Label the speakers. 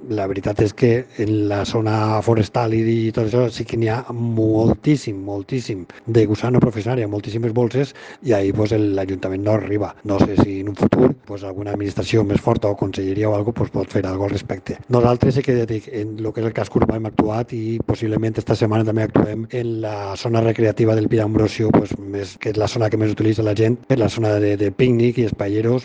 Speaker 1: la veritat és que en la zona forestal i tot això sí que n'hi ha moltíssim de gusano professional, hi ha moltíssimes bolses i ahir pues, l'Ajuntament no arriba. No sé si en un futur pues, alguna administració més forta o conselleria o alguna cosa pues, pot fer alguna cosa al respecte. Nosaltres sí que dic, en el que és el casc urbà hem actuat i possiblement esta setmana també actuem en la zona recreativa del Pi d'Ambrosio, pues, que és la zona que més utilitza la gent, és la zona de pícnic i espaieros